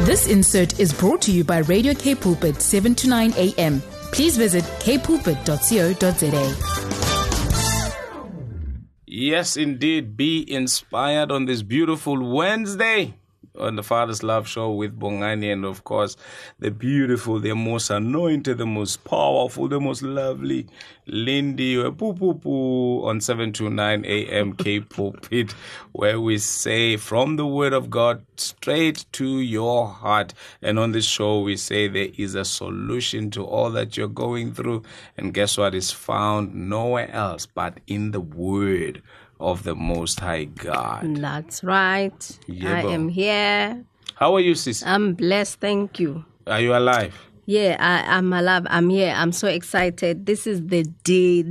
This insert is brought to you by Radio K Pulpit 7 to 9 a.m. Please visit kpulpit.co.za. Yes, indeed. Be inspired on this beautiful Wednesday on the Father's Love Show with Bongani, and of course, the beautiful, the most anointed, the most powerful, the most lovely Lindy on 7 to 9 a.m. K Pulpit, where we say from the Word of God straight to your heart. And on this show, we say there is a solution to all that you're going through. And guess what? Is found nowhere else but in the Word of the Most High God. That's right. Yeah, I am here. How are you, sis? I'm blessed, thank you. Are you alive? Yeah, I'm alive. I'm here. I'm so excited. This is the day.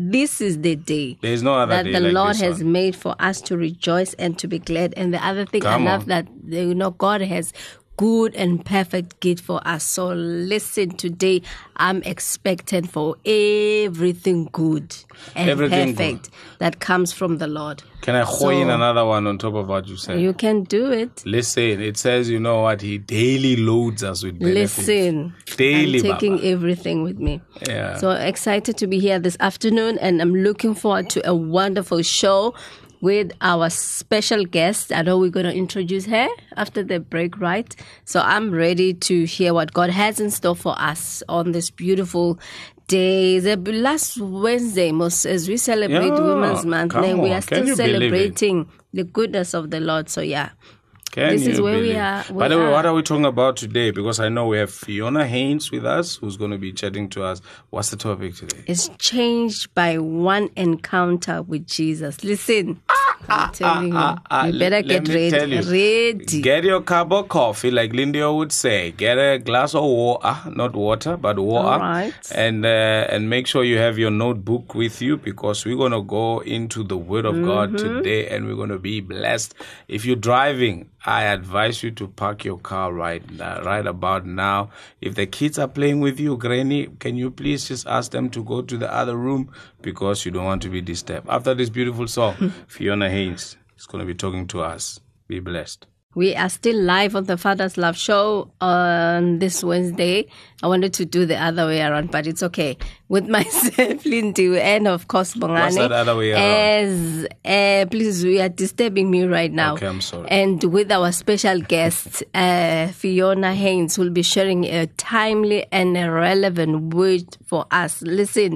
There is no other that day the like Lord this has one. made for us to rejoice and to be glad. And the other thing Come I love on. that God has good and perfect gift for us. So listen, today I'm expecting for everything good and Everything perfect that comes from the Lord. Can I throw in another one on top of what you said? You can do it. Listen, it says, you know what? He daily loads us with benefits. Listen, Daily, I'm taking Baba. everything with me. Yeah. So excited to be here this afternoon, and I'm looking forward to a wonderful show with our special guest. I know we're going to introduce her after the break, right? So I'm ready to hear what God has in store for us on this beautiful day. The last Wednesday, as we celebrate Yeah, Women's Month, come and we on. are Can still you believe it? celebrating the goodness of the Lord. So yeah. Can This is you where we believe? are- By the we way, are. what are we talking about today? Because I know we have Fiona Haynes with us, who's going to be chatting to us. What's the topic today? Is changed by one encounter with Jesus. Listen, I'm telling you, you better Let get me tell you. ready. Get your cup of coffee, like Lindy would say. Get a glass of water, not water, but water. All right. And make sure you have your notebook with you, because we're going to go into the Word of God today, and we're going to be blessed. If you're driving, I advise you to park your car right about now. If the kids are playing with you, Granny, can you please just ask them to go to the other room, because you don't want to be disturbed. After this beautiful song, Fiona Haynes is going to be talking to us. Be blessed. We are still live on the Father's Love Show on this Wednesday. I wanted to do the other way around, but it's okay. With myself, Lindy, and of course, Bongani. What's that other way around? Please, you are disturbing me right now. Okay, I'm sorry. And with our special guest, Fiona Haynes, will be sharing a timely and a relevant word for us. Listen,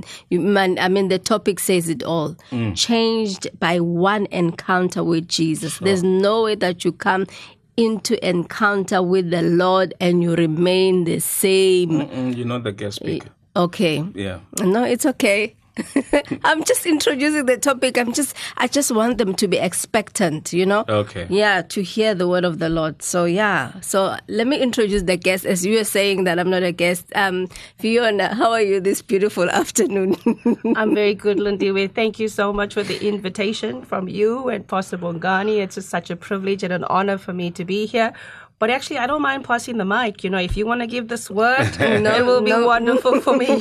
the topic says it all. Changed by one encounter with Jesus. There's no way that you come into encounter with the Lord and you remain the same. You're not the guest speaker. Okay. Yeah. No, it's okay. I'm just introducing the topic. I just want them to be expectant, Okay. Yeah, to hear the word of the Lord. So yeah. So let me introduce the guest. As you were saying that I'm not a guest. Fiona, how are you this beautiful afternoon? I'm very good, Lindiwe. Thank you so much for the invitation from you and Pastor Bongani. It's just such a privilege and an honor for me to be here. But actually, I don't mind passing the mic. If you want to give this word, it will be wonderful for me.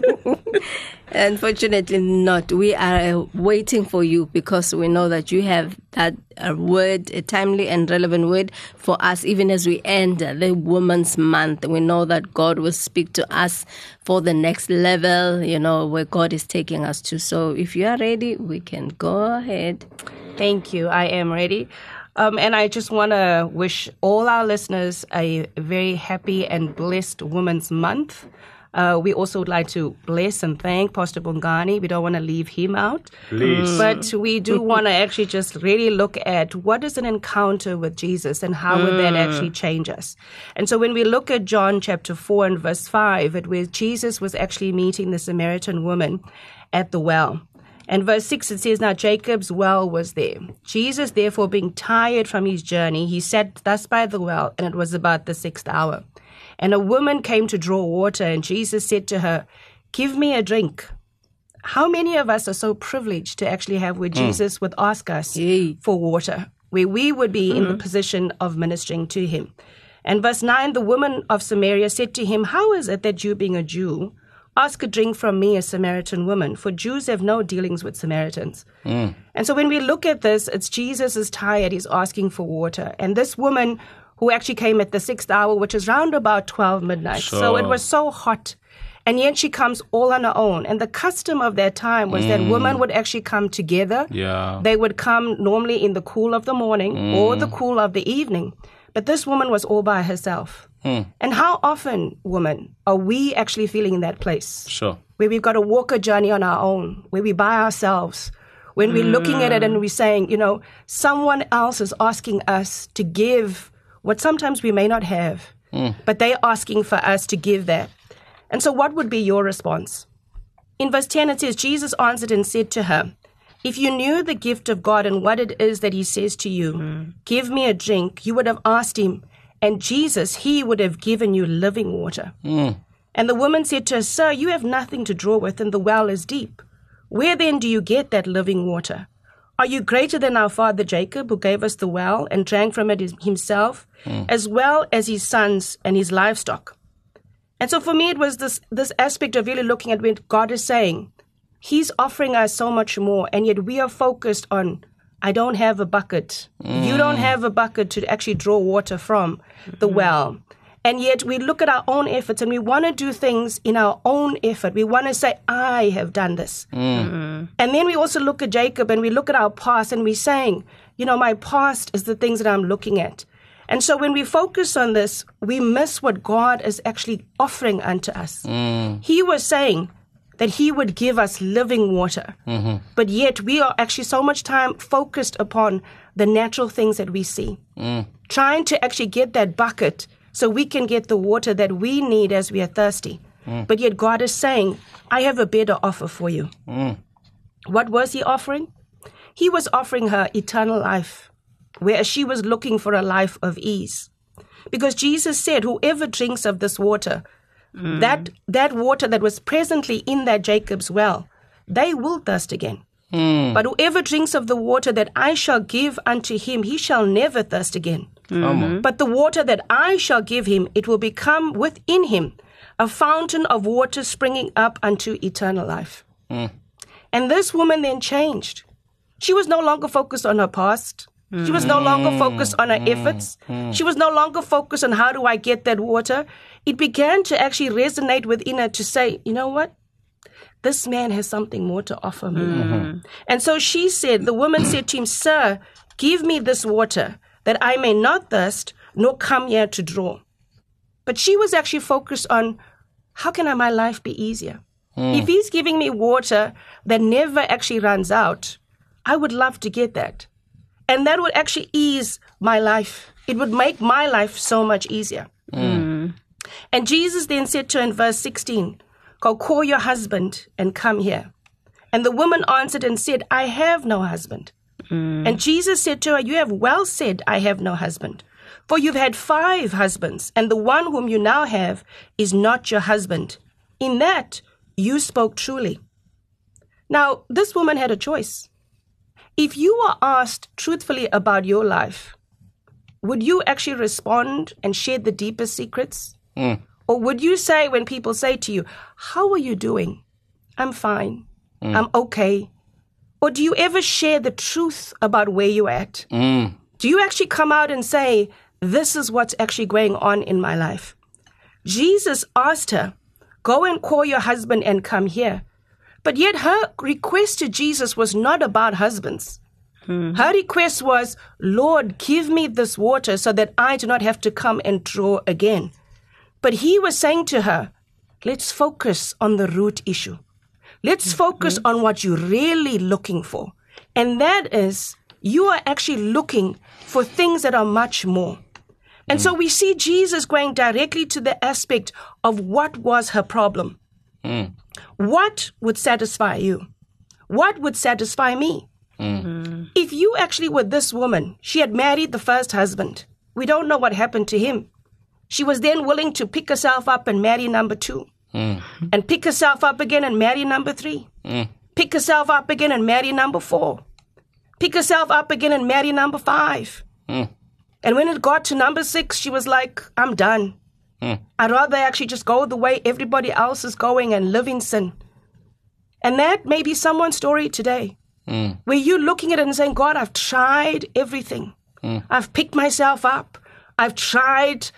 Unfortunately not. We are waiting for you, because we know that you have that word, a timely and relevant word for us, even as we end the Women's Month. We know that God will speak to us for the next level, where God is taking us to. So if you are ready, we can go ahead. Thank you. I am ready. And I just want to wish all our listeners a very happy and blessed Women's Month. We also would like to bless and thank Pastor Bongani. We don't want to leave him out. Please. But we do want to actually just really look at what is an encounter with Jesus and how would that actually change us. And so when we look at John chapter 4 and verse 5, where Jesus was actually meeting the Samaritan woman at the well. And verse 6, it says, now Jacob's well was there. Jesus, therefore, being tired from his journey, he sat thus by the well, and it was about the 6th hour. And a woman came to draw water, and Jesus said to her, give me a drink. How many of us are so privileged to actually have where Jesus would ask us for water, where we would be in the position of ministering to him? And verse 9, the woman of Samaria said to him, how is it that you, being a Jew, ask a drink from me, a Samaritan woman? For Jews have no dealings with Samaritans. And so when we look at this, it's Jesus is tired. He's asking for water. And this woman who actually came at the 6th hour, which is round about 12 midnight. So it was so hot. And yet she comes all on her own. And the custom of that time was that women would actually come together. Yeah. They would come normally in the cool of the morning or the cool of the evening. But this woman was all by herself. And how often, women, are we actually feeling in that place? Sure. Where we've got to walk a journey on our own, where we're by ourselves, when we're looking at it and we're saying, someone else is asking us to give what sometimes we may not have, but they're asking for us to give that. And so what would be your response? In verse 10, it says, Jesus answered and said to her, if you knew the gift of God and what it is that he says to you, give me a drink, you would have asked him, and Jesus, he would have given you living water. And the woman said to her, sir, you have nothing to draw with, and the well is deep. Where then do you get that living water? Are you greater than our father Jacob, who gave us the well and drank from it himself, as well as his sons and his livestock? And so for me, it was this aspect of really looking at when God is saying, he's offering us so much more, and yet we are focused on, I don't have a bucket. You don't have a bucket to actually draw water from the well. And yet we look at our own efforts and we want to do things in our own effort. We want to say, I have done this. And then we also look at Jacob and we look at our past and we're saying, my past is the things that I'm looking at. And so when we focus on this, we miss what God is actually offering unto us. He was saying that he would give us living water. But yet we are actually so much time focused upon the natural things that we see. Trying to actually get that bucket so we can get the water that we need as we are thirsty. But yet God is saying, I have a better offer for you. What was he offering? He was offering her eternal life, whereas she was looking for a life of ease. Because Jesus said, whoever drinks of this water, that water that was presently in that Jacob's well, they will thirst again. But whoever drinks of the water that I shall give unto him, he shall never thirst again. But the water that I shall give him, it will become within him a fountain of water springing up unto eternal life. And this woman then changed. She was no longer focused on her past. She was no longer focused on her efforts. She was no longer focused on how do I get that water. It began to actually resonate within her to say, you know what? This man has something more to offer me. And so the woman said to him, sir, give me this water that I may not thirst, nor come here to draw. But she was actually focused on, how can my life be easier? If he's giving me water that never actually runs out, I would love to get that. And that would actually ease my life. It would make my life so much easier. And Jesus then said to her in verse 16, go call your husband and come here. And the woman answered and said, I have no husband. And Jesus said to her, you have well said, I have no husband. For you've had 5 husbands, and the one whom you now have is not your husband. In that you spoke truly. Now, this woman had a choice. If you were asked truthfully about your life, would you actually respond and share the deepest secrets? Or would you say, when people say to you, how are you doing? I'm fine. I'm okay. Or do you ever share the truth about where you're at? Do you actually come out and say, this is what's actually going on in my life? Jesus asked her, go and call your husband and come here. But yet her request to Jesus was not about husbands. Her request was, Lord, give me this water so that I do not have to come and draw again. But he was saying to her, let's focus on the root issue. Let's focus on what you're really looking for. And that is, you are actually looking for things that are much more. And so we see Jesus going directly to the aspect of what was her problem. What would satisfy you? What would satisfy me? If you actually were this woman, she had married the first husband. We don't know what happened to him. She was then willing to pick herself up and marry number 2. And pick herself up again and marry number 3. Pick herself up again and marry number 4. Pick herself up again and marry number 5. And when it got to number 6, she was like, I'm done. I'd rather actually just go the way everybody else is going and live in sin. And that may be someone's story today, where you're looking at it and saying, God, I've tried everything. I've picked myself up. I've tried,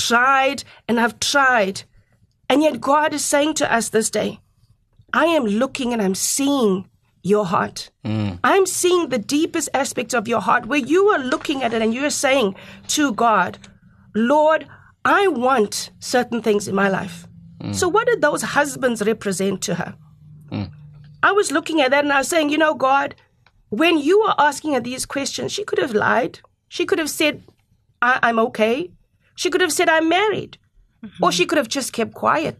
and I've tried. And yet God is saying to us this day, I am looking and I'm seeing your heart. I'm seeing the deepest aspects of your heart where you are looking at it and you're saying to God, Lord, I want certain things in my life. So what did those husbands represent to her? I was looking at that and I was saying, God, when you were asking her these questions, she could have lied. She could have said, I'm okay. She could have said, I'm married. Or she could have just kept quiet.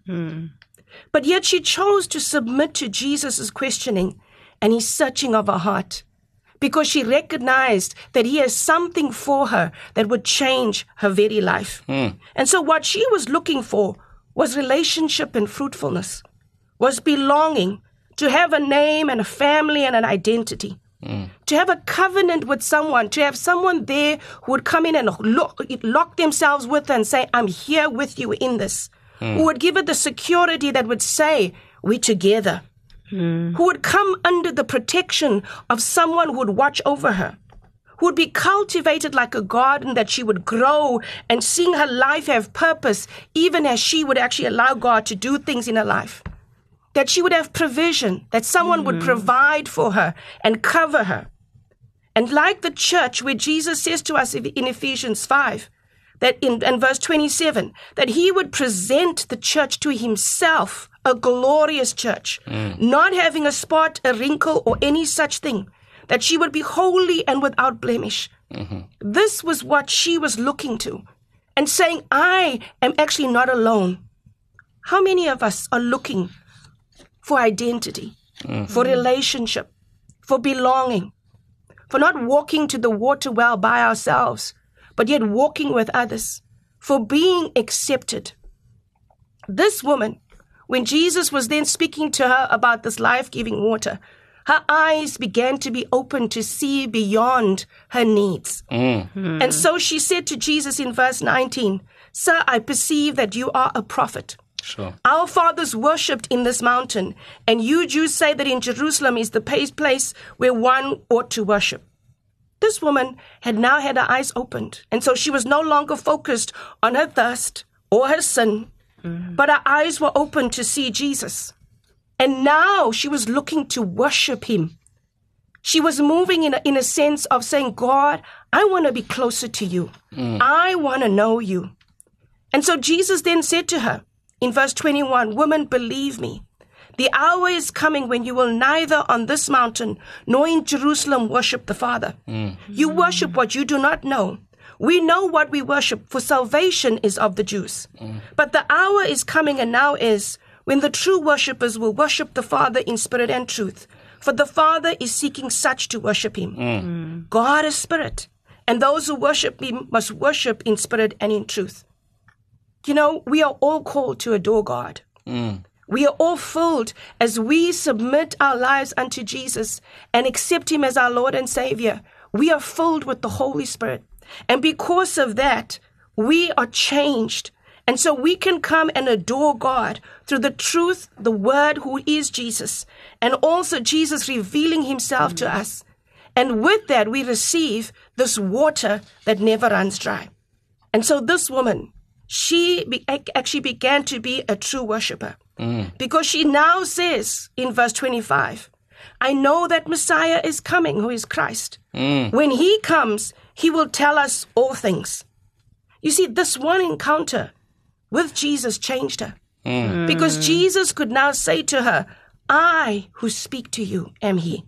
But yet she chose to submit to Jesus' questioning and his searching of her heart, because she recognized that he has something for her that would change her very life. And so what she was looking for was relationship and fruitfulness, was belonging, to have a name and a family and an identity, to have a covenant with someone, to have someone there who would come in and lock themselves with her and say, I'm here with you in this, who would give her the security that would say, we're together, who would come under the protection of someone who would watch over her, who would be cultivated like a garden, that she would grow and seeing her life have purpose, even as she would actually allow God to do things in her life, that she would have provision, that someone would provide for her and cover her. And like the church, where Jesus says to us in Ephesians 5, that in verse 27, that he would present the church to himself, a glorious church, not having a spot, a wrinkle, or any such thing, that she would be holy and without blemish. This was what she was looking to and saying, I am actually not alone. How many of us are looking for identity, for relationship, for belonging, for not walking to the water well by ourselves, but yet walking with others, for being accepted? This woman, when Jesus was then speaking to her about this life-giving water, her eyes began to be open to see beyond her needs. And so she said to Jesus in verse 19, Sir, I perceive that you are a prophet. Sure. Our fathers worshipped in this mountain, and you Jews say that in Jerusalem is the place where one ought to worship. This woman had now had her eyes opened, and so she was no longer focused on her thirst or her sin, but her eyes were open to see Jesus. And now she was looking to worship him. She was moving in a sense of saying, God, I want to be closer to you. I want to know you. And so Jesus then said to her in verse 21, Woman, believe me, the hour is coming when you will neither on this mountain nor in Jerusalem worship the Father. You worship what you do not know. We know what we worship, for salvation is of the Jews. But the hour is coming, and now is, when the true worshippers will worship the Father in spirit and truth. For the Father is seeking such to worship him. God is spirit, and those who worship him must worship in spirit and in truth. You know, we are all called to adore God. We are all filled as we submit our lives unto Jesus and accept him as our Lord and Savior. We are filled with the Holy Spirit. And because of that, we are changed. And so we can come and adore God through the truth, the word, who is Jesus, and also Jesus revealing himself to us. And with that, we receive this water that never runs dry. And so this woman, she actually began to be a true worshiper, because she now says in verse 25, I know that Messiah is coming, who is Christ. When he comes, he will tell us all things. You see, this one encounter with Jesus changed her, because Jesus could now say to her, I who speak to you am he.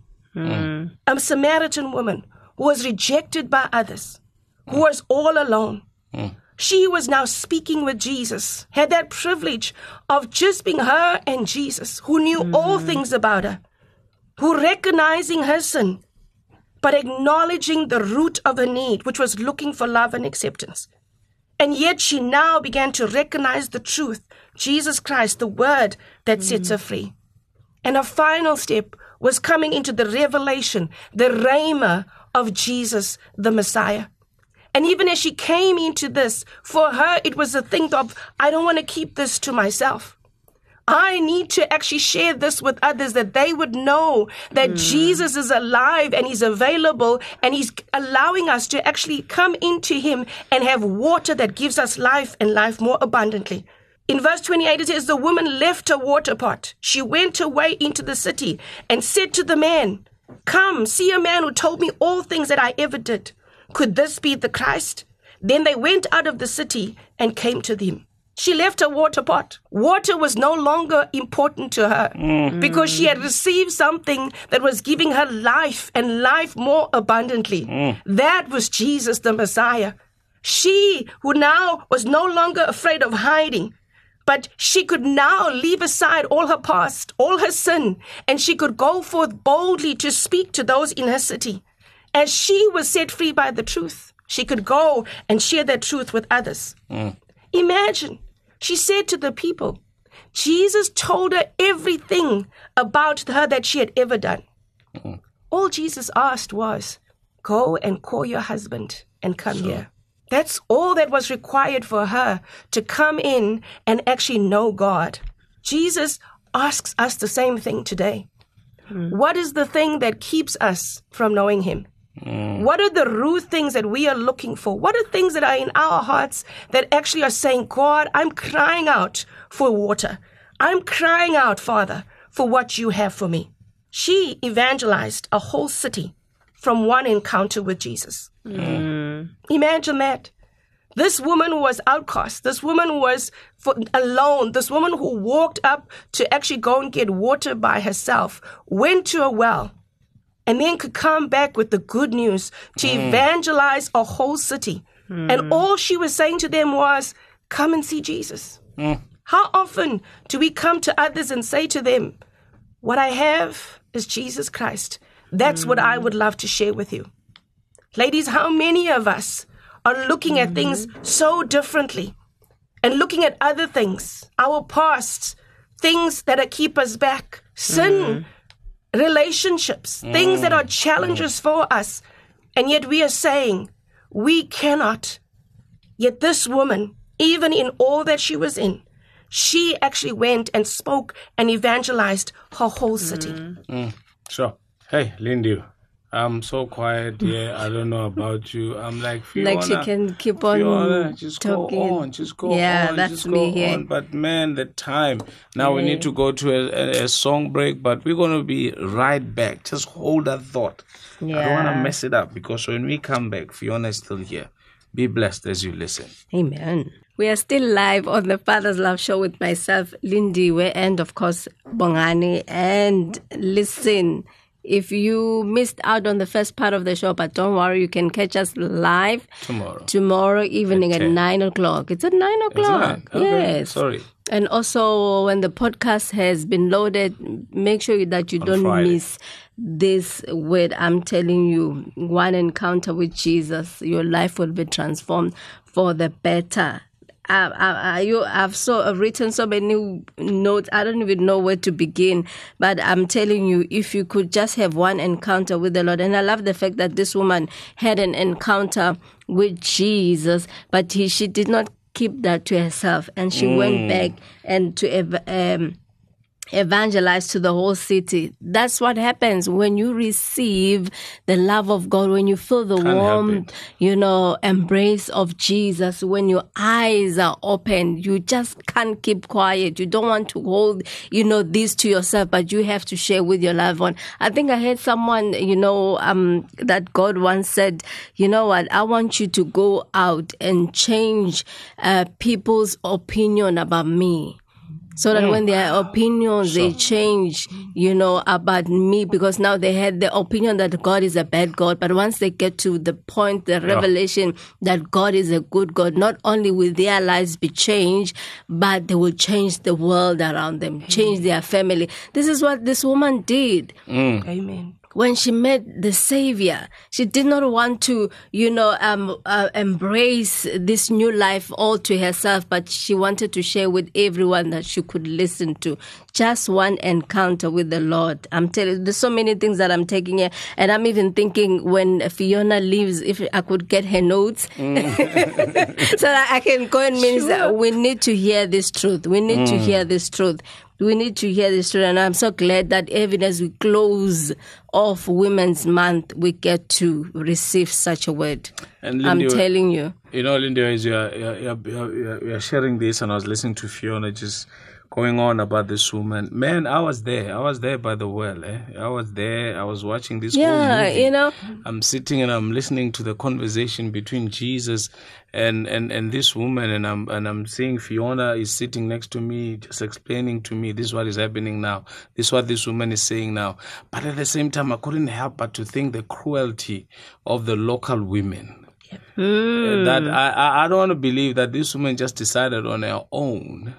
A Samaritan woman who was rejected by others, who was all alone. She was now speaking with Jesus, had that privilege of just being her and Jesus, who knew all things about her, who recognizing her sin, but acknowledging the root of her need, which was looking for love and acceptance. And yet she now began to recognize the truth, Jesus Christ, the word that sets her free. And her final step was coming into the revelation, the rhema of Jesus, the Messiah. And even as she came into this, for her, it was a thing of, I don't want to keep this to myself. I need to actually share this with others, that they would know that Jesus is alive and he's available, and he's allowing us to actually come into him and have water that gives us life and life more abundantly. In verse 28, it says, the woman left her water pot. She went away into the city and said to the man, come, see a man who told me all things that I ever did. Could this be the Christ? Then they went out of the city and came to him. She left her water pot. Water was no longer important to her because she had received something that was giving her life and life more abundantly. That was Jesus, the Messiah. She who now was no longer afraid of hiding, but she could now leave aside all her past, all her sin, and she could go forth boldly to speak to those in her city. As she was set free by the truth, she could go and share that truth with others. Imagine, she said to the people, Jesus told her everything about her that she had ever done. All Jesus asked was, go and call your husband and come here. That's all that was required for her to come in and actually know God. Jesus asks us the same thing today. What is the thing that keeps us from knowing him? What are the root things that we are looking for? What are things that are in our hearts that actually are saying, God, I'm crying out for water. I'm crying out, Father, for what you have for me. She evangelized a whole city from one encounter with Jesus. Imagine that. This woman was outcast. This woman was alone. This woman who walked up to actually go and get water by herself, went to a well, and then could come back with the good news to evangelize a whole city. And all she was saying to them was, come and see Jesus. How often do we come to others and say to them, what I have is Jesus Christ. That's what I would love to share with you. Ladies, how many of us are looking at things so differently and looking at other things, our past, things that keep us back, sin, relationships, things that are challenges for us, and yet we are saying we cannot. Yet this woman, even in all that she was in, she actually went and spoke and evangelized her whole city. Sure. Hey, Lindy, I'm so quiet here. I don't know about you. I'm like, Fiona, like she can keep on Fiona, just talking. go on, just go yeah, on, that's just me go here. on. But man, the time. Now we need to go to a song break, but we're going to be right back. Just hold that thought. I don't want to mess it up, because when we come back, Fiona is still here. Be blessed as you listen. Amen. We are still live on the Father's Love Show with myself, Lindy, and of course, Bongani. And listen, if you missed out on the first part of the show, but don't worry, you can catch us live tomorrow evening at 9 o'clock. It's at 9 o'clock. Okay. Yes. Sorry. And also, when the podcast has been loaded, make sure that you don't miss this word. I'm telling you, one encounter with Jesus, your life will be transformed for the better. I've written so many notes. I don't even know where to begin. But I'm telling you, if you could just have one encounter with the Lord. And I love the fact that this woman had an encounter with Jesus, but she did not keep that to herself. And she went back and to evangelize to the whole city. That's what happens when you receive the love of God, when you feel the warm, embrace of Jesus, when your eyes are open. You just can't keep quiet. You don't want to hold, this to yourself, but you have to share with your loved one. I think I heard someone, that God once said, you know what, I want you to go out and change people's opinion about me. So that when their opinions, they change, about me, because now they had the opinion that God is a bad God. But once they get to the point, the revelation that God is a good God, not only will their lives be changed, but they will change the world around them, change their family. This is what this woman did. Amen. When she met the Savior, she did not want to, embrace this new life all to herself, but she wanted to share with everyone that she could listen to. Just one encounter with the Lord. I'm telling you, there's so many things that I'm taking here. And I'm even thinking when Fiona leaves, if I could get her notes so that I can go and minister. We need to hear this truth. We need to hear this truth. We need to hear this story, and I'm so glad that even as we close off Women's Month, we get to receive such a word. And Lindy, I'm telling you. You know, Lindy, as you're sharing this, and I was listening to Fiona just going on about this woman. Man, I was there. I was there by the well. I was there. I was watching this whole movie. You know. I'm sitting and I'm listening to the conversation between Jesus and this woman, and I'm seeing Fiona is sitting next to me, just explaining to me, this is what is happening now. This is what this woman is saying now. But at the same time, I couldn't help but to think the cruelty of the local women. That I don't want to believe that this woman just decided on her own.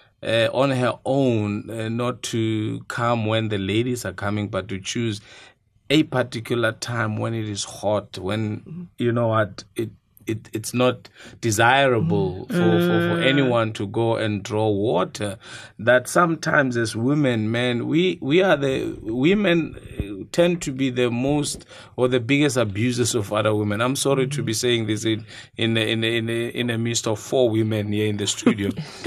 Not to come when the ladies are coming, but to choose a particular time when it is hot, when, you know what, it's not desirable for anyone to go and draw water. That sometimes as women, man, we are the women tend to be the most or the biggest abusers of other women. I'm sorry to be saying this in the midst of 4 women here in the studio,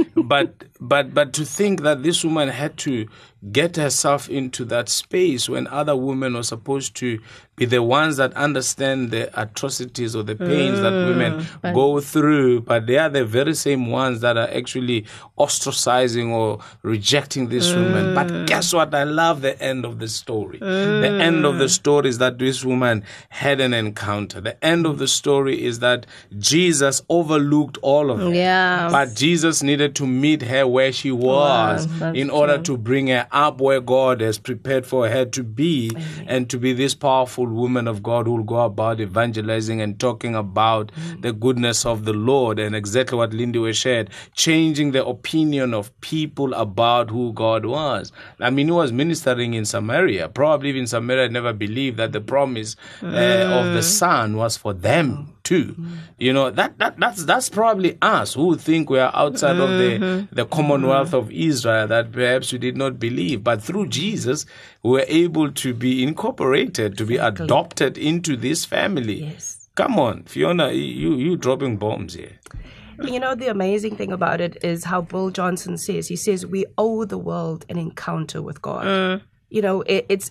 but to think that this woman had to get herself into that space when other women are supposed to be the ones that understand the atrocities or the pains that women go through, but they are the very same ones that are actually ostracizing or rejecting this woman. But guess what? I love the end of the story. The end of the story is that this woman had an encounter. The end of the story is that Jesus overlooked all of it. Yeah. But Jesus needed to meet her where she was in order to bring her up where God has prepared for her to be. Amen. And to be this powerful woman of God who will go about evangelizing and talking about the goodness of the Lord, and exactly what Lindy was shared, changing the opinion of people about who God was. I mean, he was ministering in Samaria. Probably even Samaria never believed that the promise of the Son was for them too. You know, that's probably us who think we are outside of the Commonwealth of Israel, that perhaps we did not believe. But through Jesus, we were able to be incorporated, to be adopted into this family. Yes. Come on, Fiona, you dropping bombs here. You know, the amazing thing about it is how Bill Johnson says, he says, we owe the world an encounter with God. You know, it's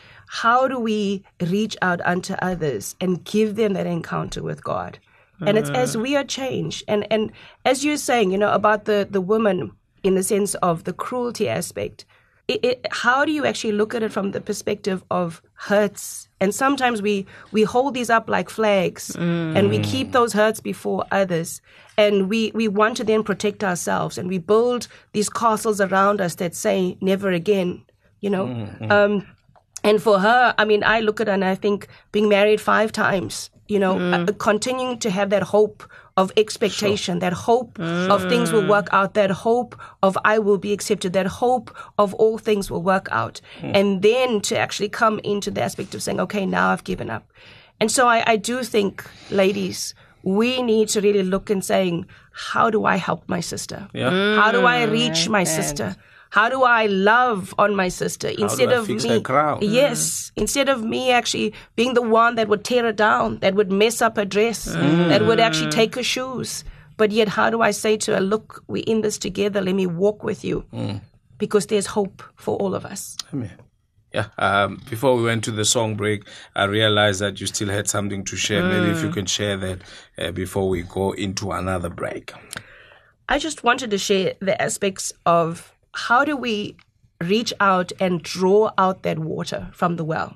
how do we reach out unto others and give them that encounter with God? And it's as we are changed. And as you're saying, you know, about the woman in the sense of the cruelty aspect, how do you actually look at it from the perspective of hurts? And sometimes we hold these up like flags and we keep those hurts before others. And we want to then protect ourselves, and we build these castles around us that say never again, you know. And for her, I mean, I look at her and I think being married 5 times, you know, continuing to have that hope of expectation, that hope of things will work out, that hope of I will be accepted, that hope of all things will work out. And then to actually come into the aspect of saying, okay, now I've given up. And so I do think, ladies, we need to really look and saying, how do I help my sister? Yeah. How do I reach my sister? How do I love on my sister instead of fix me? her crown? Yes, instead of me actually being the one that would tear her down, that would mess up her dress, that would actually take her shoes. But yet, how do I say to her, look, we're in this together. Let me walk with you, because there's hope for all of us. Amen. Yeah. Before we went to the song break, I realized that you still had something to share. Maybe if you can share that before we go into another break. I just wanted to share the aspects of how do we reach out and draw out that water from the well?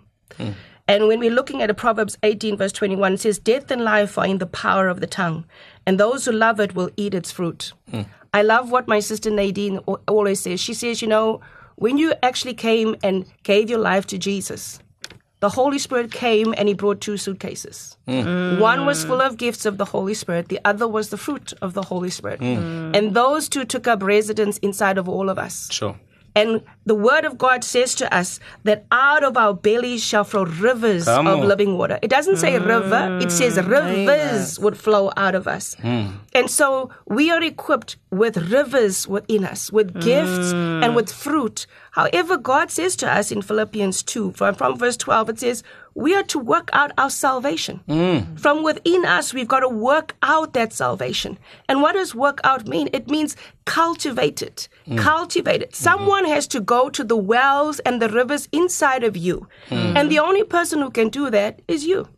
And when we're looking at Proverbs 18, verse 21, it says, death and life are in the power of the tongue, and those who love it will eat its fruit. I love what my sister Nadine always says. She says, you know, when you actually came and gave your life to Jesus, the Holy Spirit came and he brought 2 suitcases. One was full of gifts of the Holy Spirit. The other was the fruit of the Holy Spirit. And those 2 took up residence inside of all of us. Sure. And the word of God says to us that out of our bellies shall flow rivers of living water. It doesn't say river, it says rivers would flow out of us. And so we are equipped with rivers within us, with gifts and with fruit. However, God says to us in Philippians 2, from verse 12, it says, we are to work out our salvation. From within us, we've got to work out that salvation. And what does work out mean? It means cultivate it. Cultivate it. Someone has to go to the wells and the rivers inside of you. And the only person who can do that is you.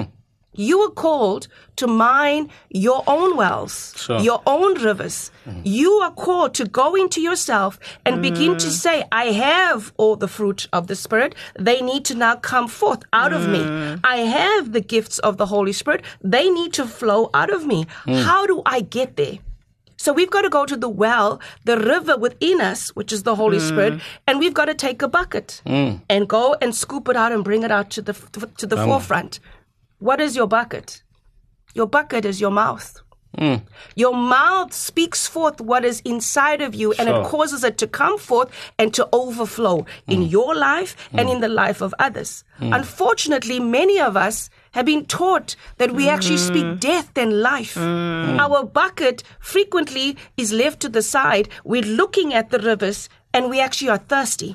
You are called to mine your own wells, your own rivers. You are called to go into yourself and begin to say, I have all the fruit of the Spirit. They need to now come forth out of me. I have the gifts of the Holy Spirit. They need to flow out of me. How do I get there? So we've got to go to the well, the river within us, which is the Holy Spirit, and we've got to take a bucket and go and scoop it out and bring it out to the forefront. What is your bucket? Your bucket is your mouth. Your mouth speaks forth what is inside of you, and it causes it to come forth and to overflow in your life and in the life of others. Unfortunately, many of us have been taught that we actually speak death and life. Our bucket frequently is left to the side. We're looking at the rivers and we actually are thirsty.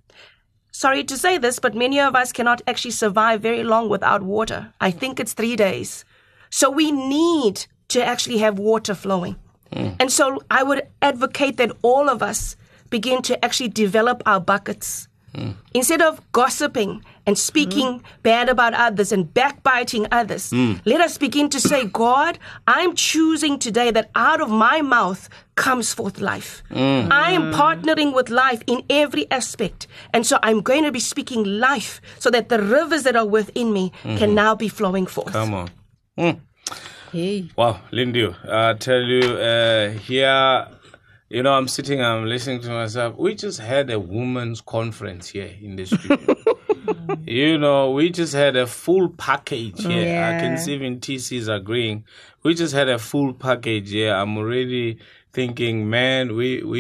Sorry to say this, but many of us cannot actually survive very long without water. I think it's 3 days. So we need to actually have water flowing. And so I would advocate that all of us begin to actually develop our buckets. Instead of gossiping and speaking bad about others and backbiting others, let us begin to say, God, I'm choosing today that out of my mouth comes forth life. I am partnering with life in every aspect. And so I'm going to be speaking life so that the rivers that are within me can now be flowing forth. Come on. Hey. Wow, Lindy, I tell you, here... You know, I'm listening to myself. We just had a women's conference here in the studio. You know, we just had a full package here. Yeah. I can see even TC is agreeing. We just had a full package here. I'm already thinking, man,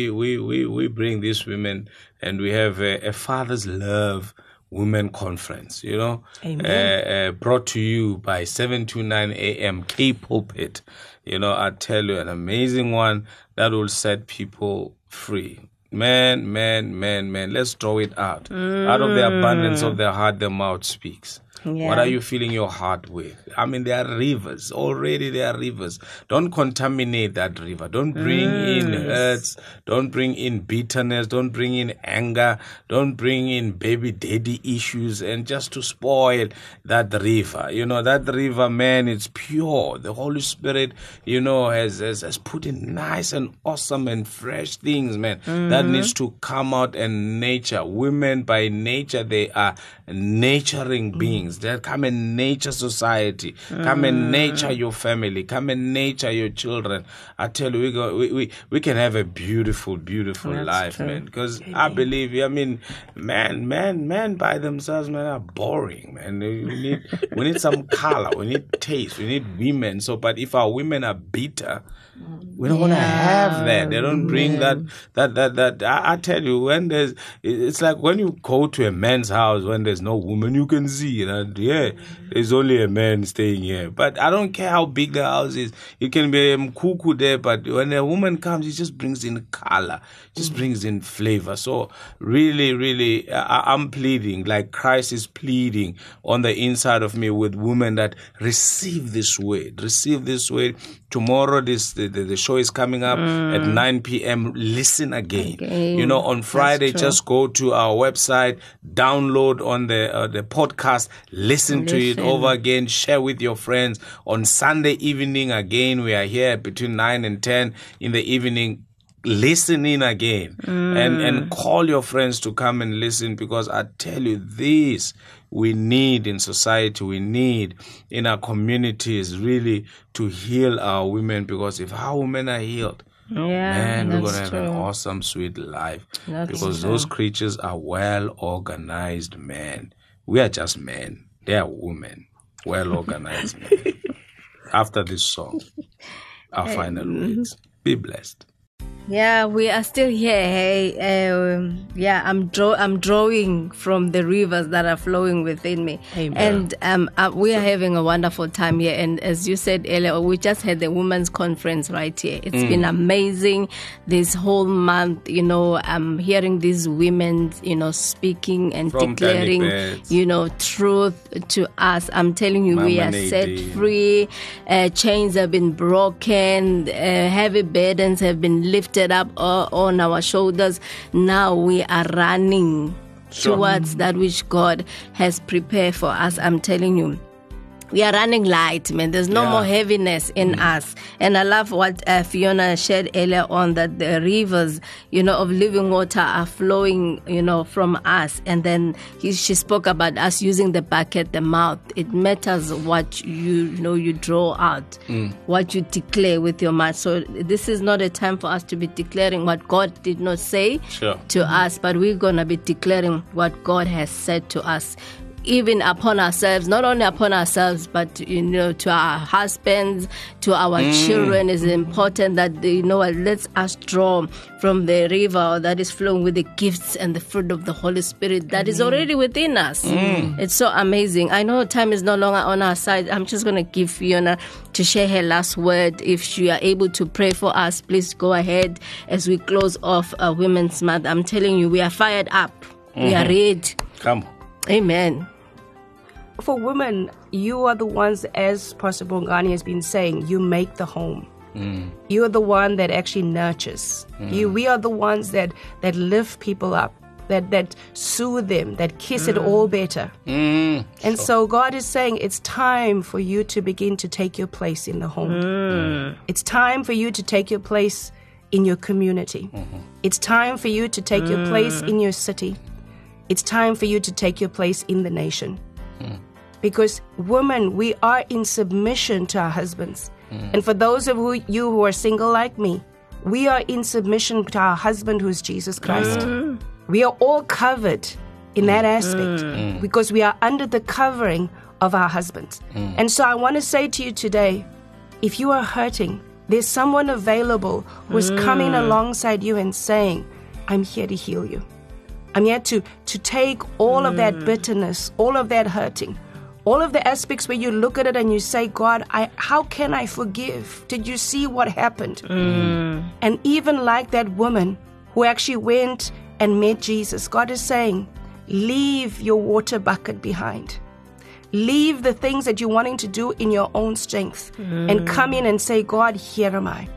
we bring these women and we have a Father's Love Women Conference, you know, brought to you by 729 AM K Pulpit. You know, I tell you, an amazing one that will set people free. Man, let's throw it out. Out of the abundance of their heart, the mouth speaks. Yeah. What are you filling your heart with? I mean, there are rivers. Already there are rivers. Don't contaminate that river. Don't bring in hurts. Don't bring in bitterness. Don't bring in anger. Don't bring in baby daddy issues and just to spoil that river. You know, that river, man, it's pure. The Holy Spirit, you know, has put in nice and awesome and fresh things, man, that needs to come out and nature. Women by nature, they are nurturing beings. That come and nature society, come and nature your family, come and nature your children. I tell you, we can have a beautiful life, true. Man. Because I believe, I mean, men by themselves, man, are boring, man. We need some color, we need taste, we need women. So, but if our women are bitter, we don't want to have that. They don't bring that. I tell you, it's like when you go to a man's house when there's no woman, you can see that, there's only a man staying here. But I don't care how big the house is. It can be a cuckoo there, but when a woman comes, it just brings in color, just brings in flavor. So really, I'm pleading, like Christ is pleading on the inside of me with women that receive this word. Tomorrow, the show is coming up at 9 p.m. Listen again. You know, on Friday, just go to our website, download on the podcast, listen to it over again, share with your friends. On Sunday evening, again, we are here between 9 and 10 in the evening. Listen in again and call your friends to come and listen, because I tell you, this we need in society, we need in our communities really to heal our women, because if our women are healed, man, we're going to have an awesome, sweet life. Because those creatures are well-organized men. We are just men. They are women. Well-organized men. After this song, our final words. Be blessed. Yeah, we are still here. Hey, I'm drawing from the rivers that are flowing within me. Amen. And we are having a wonderful time here. And as you said earlier, we just had the women's conference right here. It's been amazing this whole month. You know, I'm hearing these women, you know, speaking and From declaring, Danny you know, truth to us. I'm telling you, we are Mama set Nadine. free. Chains have been broken. Heavy burdens have been lifted up on our shoulders. Now we are running Sure. towards that which God has prepared for us. I'm telling you, we are running light, man. There's no Yeah. more heaviness in us. And I love what Fiona shared earlier on, that the rivers, you know, of living water are flowing, you know, from us. And then she spoke about us using the bucket, the mouth. It matters what you know you draw out, what you declare with your mouth. So this is not a time for us to be declaring what God did not say Sure. to us, but we're going to be declaring what God has said to us, even upon ourselves, not only upon ourselves, but, you know, to our husbands, to our children. It's important that, you know, let us draw from the river that is flowing with the gifts and the fruit of the Holy Spirit that is already within us. It's so amazing. I know time is no longer on our side. I'm just going to give Fiona to share her last word. If you are able to pray for us, please go ahead as we close off Women's Month. I'm telling you, we are fired up. We are ready. Come on. Amen. For women, you are the ones, as Pastor Bongani has been saying, you make the home. You are the one that actually nurtures. We are the ones that lift people up, that soothe them, that kiss it all better. And so God is saying it's time for you to begin to take your place in the home. It's time for you to take your place in your community. It's time for you to take your place in your city. It's time for you to take your place in the nation. Because women, we are in submission to our husbands. And for those of you who are single like me, we are in submission to our husband, who is Jesus Christ. We are all covered in that aspect because we are under the covering of our husbands. And so I want to say to you today, if you are hurting, there's someone available who is coming alongside you and saying, I'm here to heal you. I'm here to take all of that bitterness, all of that hurting, all of the aspects where you look at it and you say, God, how can I forgive? Did you see what happened? And even like that woman who actually went and met Jesus, God is saying, leave your water bucket behind. Leave the things that you're wanting to do in your own strength and come in and say, God, here am I.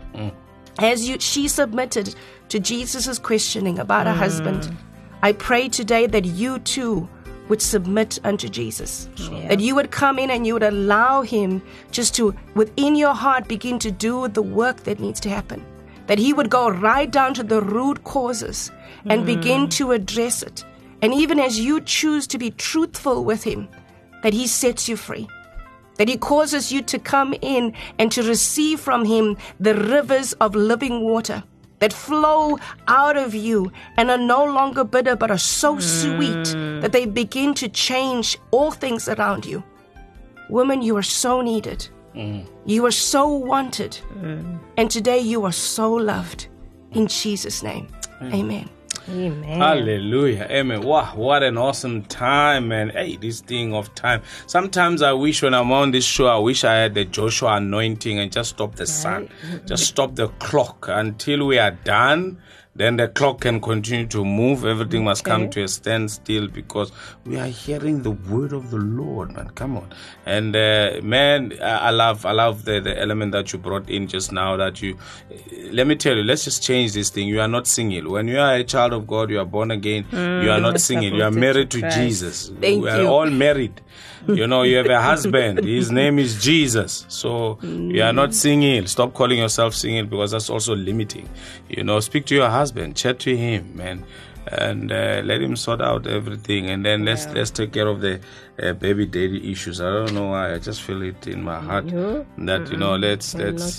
As she submitted to Jesus' questioning about her husband, I pray today that you too would submit unto Jesus. That you would come in and you would allow him just to, within your heart, begin to do the work that needs to happen. That he would go right down to the root causes and begin to address it. And even as you choose to be truthful with him, that he sets you free. That he causes you to come in and to receive from him the rivers of living water that flow out of you and are no longer bitter but are so sweet that they begin to change all things around you. Women, you are so needed. You are so wanted. And today you are so loved. In Jesus' name, amen. Amen. Hallelujah. Amen. Wow, what an awesome time, man. Hey, this thing of time. Sometimes I wish when I'm on this show, I wish I had the Joshua anointing and just stop the sun. Just stop the clock until we are done. Then the clock can continue to move. Everything must come to a standstill because we are hearing the word of the Lord, man. Come on. And man, I love the element that you brought in just now. That let me tell you, let's just change this thing. You are not single. When you are a child of God, you are born again. You are not single. You are married to Jesus. We are all married. You know, you have a husband. His name is Jesus. So you are not single. Stop calling yourself single because that's also limiting. You know, speak to your husband. Chat to him, man. And let him sort out everything. And then let's take care of the baby daddy issues. I don't know why. I just feel it in my heart that, you know, let's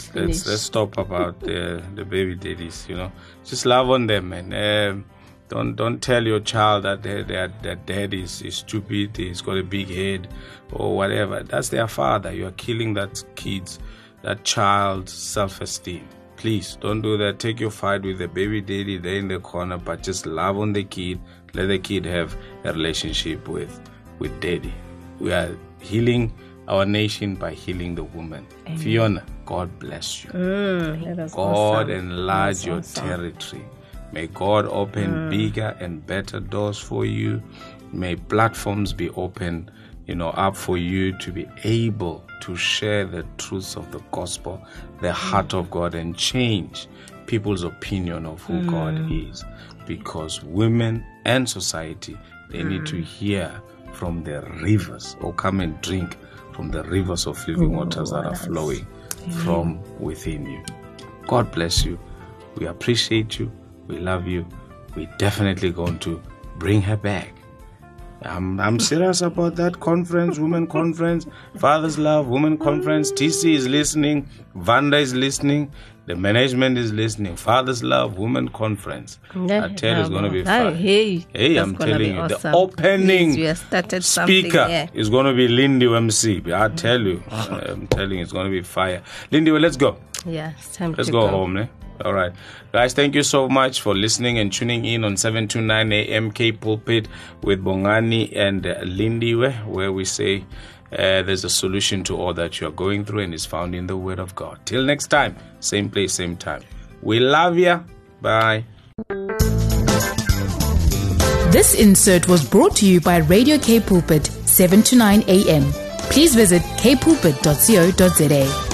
stop about the baby daddies, you know. Just love on them, man. Don't tell your child that their dad is stupid, he's got a big head or whatever. That's their father. You are killing that child's self-esteem. Please don't do that. Take your fight with the baby daddy there in the corner, but just love on the kid. Let the kid have a relationship with daddy. We are healing our nation by healing the woman. Amen. Fiona, God bless you. God awesome. enlarge your territory. May God open bigger and better doors for you. May platforms be open, up for you to be able to share the truths of the gospel, the heart of God, and change people's opinion of who God is. Because women and society, they need to hear from the rivers, or come and drink from the rivers of living waters that are flowing from within you. God bless you. We appreciate you. We love you. We're definitely going to bring her back. I'm serious about that conference, women conference, Father's Love, women conference. TC is listening. Vanda is listening. The management is listening. Father's Love, women conference. I tell you, it's going to be fun. Hey, I'm telling you, awesome. The opening speaker is going to be Lindy MC. I tell you, I'm telling you, it's going to be fire. Lindy, well, let's go. Yeah, it's time let's to go home, eh? All right. Guys, thank you so much for listening and tuning in on 729 AM K Pulpit with Bongani and Lindiwe, where we say there's a solution to all that you're going through and is found in the Word of God. Till next time, same place, same time. We love ya. Bye. This insert was brought to you by Radio K Pulpit, 7 to 9 AM. Please visit kpulpit.co.za.